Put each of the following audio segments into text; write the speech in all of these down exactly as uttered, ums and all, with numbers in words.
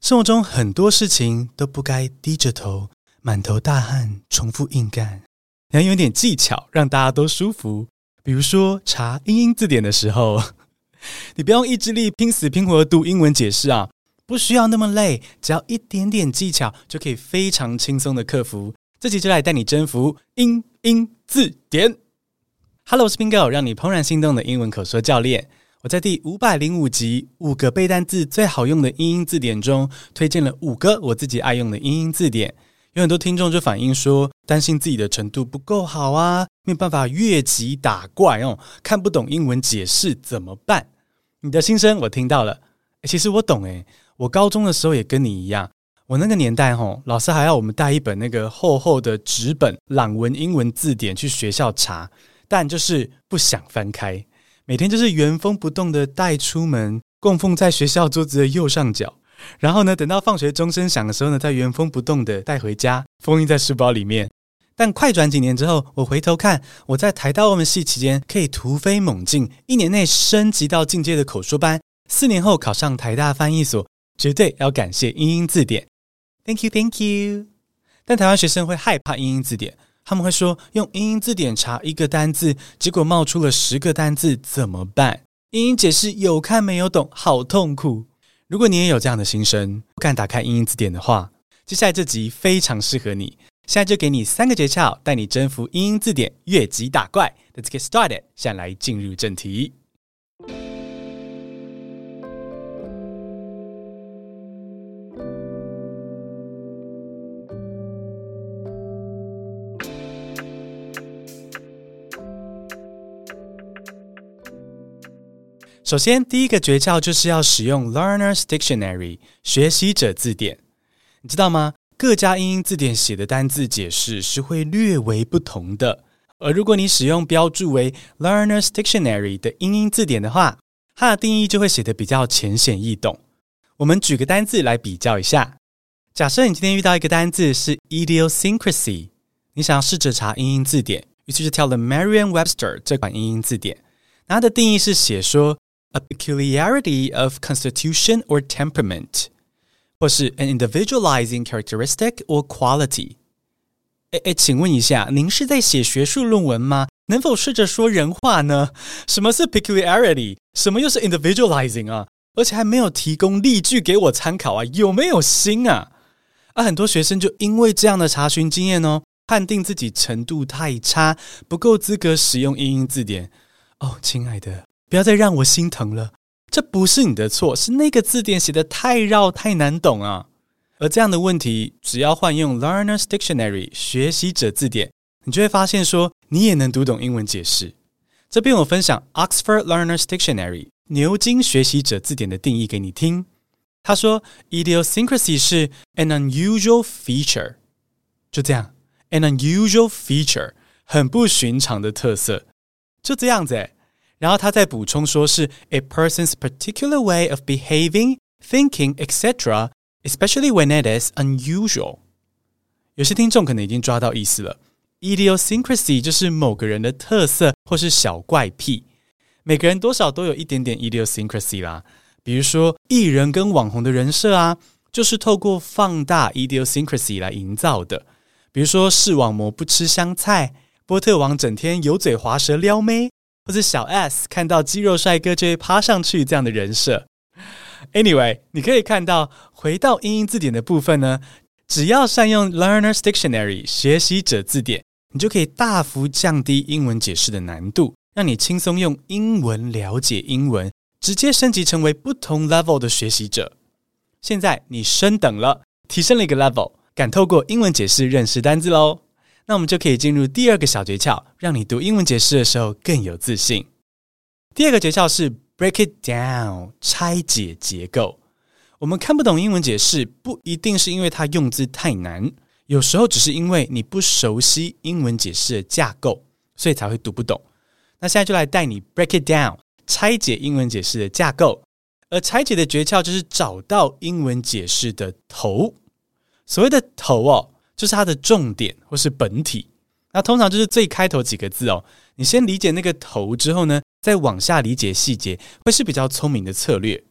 生活中很多事情都不該低着頭，滿頭大汗，重複硬幹。你要有點技巧，讓大家都舒服。比如說查英英字典的時候，你不用意志力拼死拼活的讀英文解釋啊，不需要那麼累，只要一點點技巧就可以非常輕鬆的克服。這集就來帶你征服英英字典。Hello， 我是 Bingo， 讓你怦然心動的英文口說教練。我在第五百零五集五個背單字最好用的英英字典中，推薦了五個我自己愛用的英英字典。有很多聽眾就反映說，擔心自己的程度不夠好啊，沒有辦法越級打怪哦，看不懂英文解釋怎麼辦？你的心聲我聽到了。誒，其實我懂誒，我高中的時候也跟你一樣，我那個年代吼，老師還要我們帶一本那個厚厚的紙本朗文英文字典去學校查，但就是不想翻開。每天就是原封不動的帶出門，供奉在學校桌子的右上角。然後呢，等到放學鐘聲響的時候呢，再原封不動的帶回家，封印在書包裡面。但快轉幾年之後，我回頭看，我在台大外文系期間可以突飛猛進，一年內升級到進階的口說班，四年後考上台大翻譯所，絕對要感謝英英字典。Thank you, thank you。但台灣學生會害怕英英字典。他們會說，用英英字典查一個單字，結果冒出了十個單字，怎麼辦？英英解釋有看沒有懂，好痛苦。如果你也有這樣的心聲，不敢打開英英字典的話，接下來這集非常適合你。現在就給你三個訣竅，帶你征服英英字典，越級打怪。Let's get started。現在來進入正題。首先，第一個訣竅就是要使用 Learner's Dictionary 學習者字典。你知道嗎？各家英英字典寫的單字解釋是會略為不同的。而如果你使用標注為 Learner's Dictionary 的英英字典的話，它的定義就會寫得比較淺顯易懂。我們舉個單字來比較一下。假設你今天遇到一個單字是 idiosyncrasy， 你想要試着查英英字典，於是就挑了 Merriam-Webster 這款英英字典。它的定義是寫說A peculiarity of constitution or temperament， 或是 an individualizing characteristic or quality。 誒誒，請問一下，您是在寫學術論文嗎？能否試着說人話呢？什麼是 peculiarity？ 什麼又是 individualizing 啊？而且還沒有提供例句給我參考啊，有沒有心啊？啊，很多學生就因為這樣的查詢經驗哦，判定自己程度太差，不夠資格使用英英字典。哦，親愛的，不要再讓我心疼了，這不是你的錯，是那個字典寫得太繞太難懂啊。而這樣的問題，只要換用 Learner's Dictionary 學習者字典，你就會發現說你也能讀懂英文解釋。這邊我分享 Oxford Learner's Dictionary 牛津學習者字典的定義給你聽。他說 idiosyncrasy 是 an unusual feature， 就這樣 an unusual feature 很不尋常的特色，就這樣子誒。然後他再補充說是 a person's particular way of behaving, thinking, et cetera, especially when it is unusual。 有些聽眾可能已經抓到意思了， idiosyncrasy 就是某個人的特色或是小怪癖。每個人多少都有一點點 idiosyncrasy 啦，比如說藝人跟網紅的人設啊，就是透過放大 idiosyncrasy 來營造的。比如說視網膜不吃香菜，波特王整天油嘴滑舌撩妹，或者小 S 看到肌肉帥哥就會趴上去這樣的人設。Anyway， 你可以看到，回到英英字典的部分呢，只要善用 Learner's Dictionary 學習者字典，你就可以大幅降低英文解釋的難度，讓你輕鬆用英文了解英文，直接升級成為不同 level 的學習者。現在你升等了，提升了一個 level， 敢透過英文解釋認識單字嘍。那我們就可以進入第二個小訣竅，讓你讀英文解釋的時候更有自信。第二個訣竅是 break it down， 拆解結構。我們看不懂英文解釋，不一定是因為它用字太難，有時候只是因為你不熟悉英文解釋的架構，所以才會讀不懂。那現在就來帶你 break it down， 拆解英文解釋的架構。而拆解的訣竅就是找到英文解釋的頭。所謂的頭哦，就是它的重點或是本體，那通常就是最開頭幾個字哦。你先理解那個頭之後呢，再往下理解細節，會是比較聰明的策略。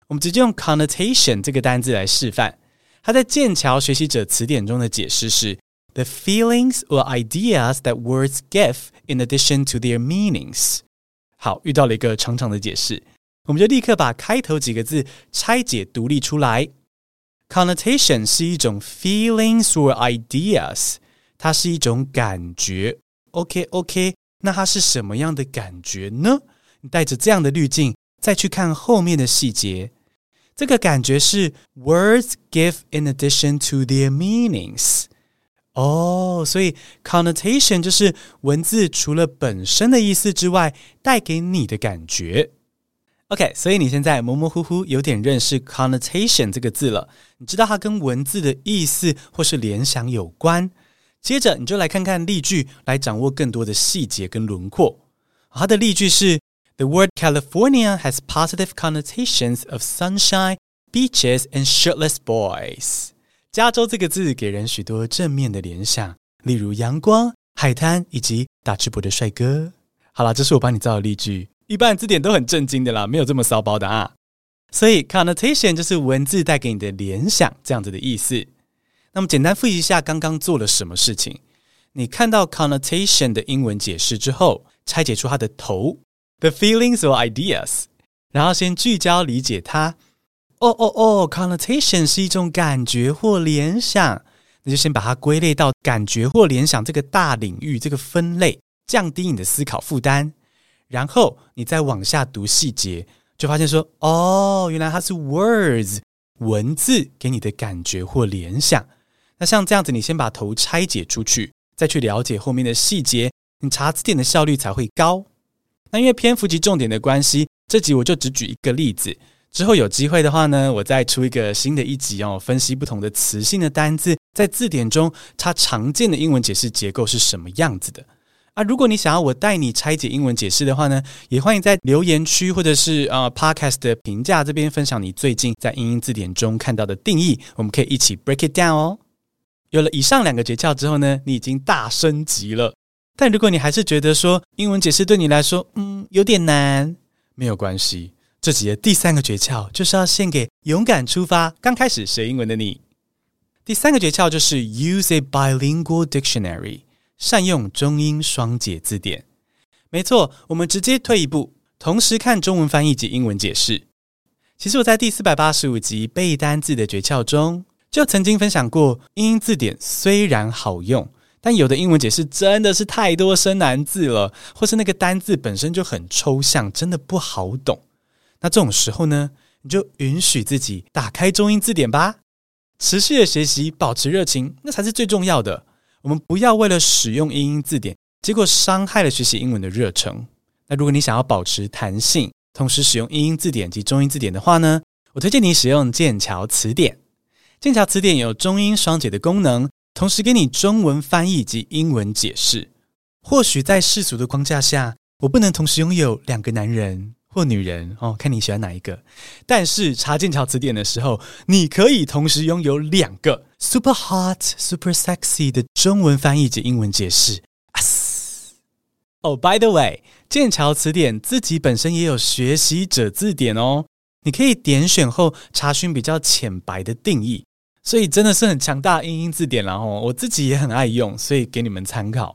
我們直接用 connotation 這個單字來示範。它在劍橋學習者詞典中的解釋是 the feelings or ideas that words give in addition to their meanings。 好，遇到了一個長長的解釋，我們就立刻把開頭幾個字拆解獨立出來。Connotation 是一種 feelings or ideas， 它是一種感覺。 OK OK， 那它是什麼樣的感覺呢？你帶着這樣的濾鏡再去看後面的細節，這個感覺是 words give in addition to their meanings。 哦，所以 connotation 就是文字除了本身的意思之外帶給你的感覺。 OK， 所以你現在模模糊糊有點認識 connotation 這個字了，你知道它跟文字的意思或是聯想有關。接着你就來看看例句，來掌握更多的細節跟輪廓。它的例句是 The word California has positive connotations of sunshine, beaches, and shirtless boys。 加州這個字給人許多正面的聯想，例如陽光、海灘以及大赤膊的帥哥。好啦，這是我幫你造的例句，一般字典都很正經的啦，沒有這麼騷包的啊。所以 connotation 就是文字帶給你的聯想，這樣子的意思。那麼簡單複習一下剛剛做了什麼事情。你看到 connotation 的英文解釋之後，拆解出它的頭 the feelings or ideas， 然後先聚焦理解它。哦哦哦 connotation 是一種感覺或聯想，那就先把它歸類到感覺或聯想這個大領域，這個分類，降低你的思考負擔。然後你再往下讀細節，就發現說，哦，原來它是 words 文字給你的感覺或聯想。那像這樣子，你先把頭拆解出去，再去了解後面的細節，你查字典的效率才會高。那因為篇幅及重點的關係，這集我就只舉一個例子。之後有機會的話呢，我再出一個新的一集哦，分析不同的詞性的單字在字典中它常見的英文解釋結構是什麼樣子的啊。如果你想要我帶你拆解英文解釋的話呢，也歡迎在留言區或者是呃 Podcast 的評價這邊分享你最近在英英字典中看到的定義，我們可以一起 break it down 哦。有了以上兩個訣竅之後呢，你已經大升級了。但如果你還是覺得說英文解釋對你來說嗯有點難，沒有關係。這集的第三個訣竅就是要獻給勇敢出發剛開始學英文的你。第三個訣竅就是 use a bilingual dictionary， 善用中英雙解字典。沒錯，我們直接退一步，同時看中文翻譯及英文解釋。其實我在第四百八十五集背單字的訣竅中就曾經分享過，英英字典雖然好用，但有的英文解釋真的是太多生難字了，或是那個單字本身就很抽象，真的不好懂。那這種時候呢，你就允許自己打開中英字典吧，持續的學習，保持熱情，那才是最重要的。我們不要為了使用英英字典，結果傷害了學習英文的熱忱。那如果你想要保持彈性，同時使用英英字典及中英字典的話呢，我推薦你使用劍橋詞典。劍橋詞典有中英雙解的功能，同時給你中文翻譯及英文解釋。或許在世俗的框架下，我不能同時擁有兩個男人或女人哦，看你喜歡哪一個。但是查劍橋詞典的時候，你可以同時擁有兩個 super hot、super sexy 的中文翻譯及英文解釋。哦、oh, by the way， 劍橋詞典自己本身也有學習者字典哦，你可以點選後查詢比較淺白的定義，所以真的是很強大的英英字典啦哦，我自己也很愛用，所以給你們參考。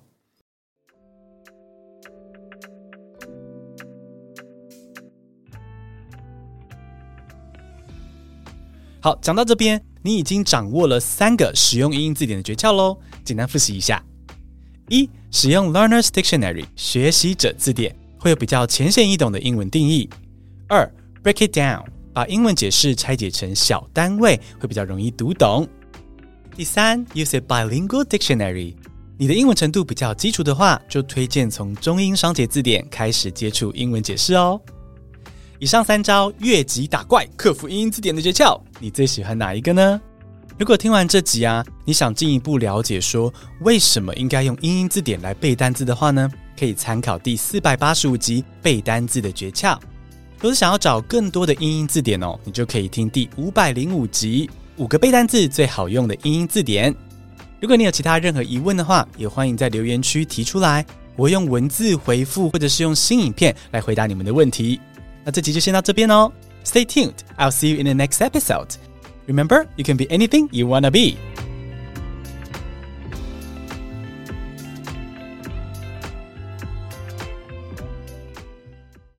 好，講到這邊，你已經掌握了三個使用英英字典的訣竅咯，簡單複習一下。一、使用 Learner's Dictionary 學習者字典，會有比較淺顯易懂的英文定義。二、Break it down 把英文解釋拆解成小單位，會比較容易讀懂。第三 Use a bilingual dictionary 你的英文程度比較基礎的話，就推薦從中英雙解字典開始接觸英文解釋哦。以上三招越級打怪克服英英字典的訣竅，你最喜歡哪一個呢？如果聽完這集啊，你想進一步了解說為什麼應該用英英字典來背單字的話呢，可以參考第四百八十五集背單字的訣竅。如果想要找更多的英英字典哦，你就可以聽第五百零五集五個背單字最好用的英英字典。如果你有其他任何疑問的話，也歡迎在留言區提出來，我會用文字回復或者是用新影片來回答你們的問題。那這集就先到這邊哦， Stay tuned. I'll see you in the next episode. Remember, you can be anything you wanna be.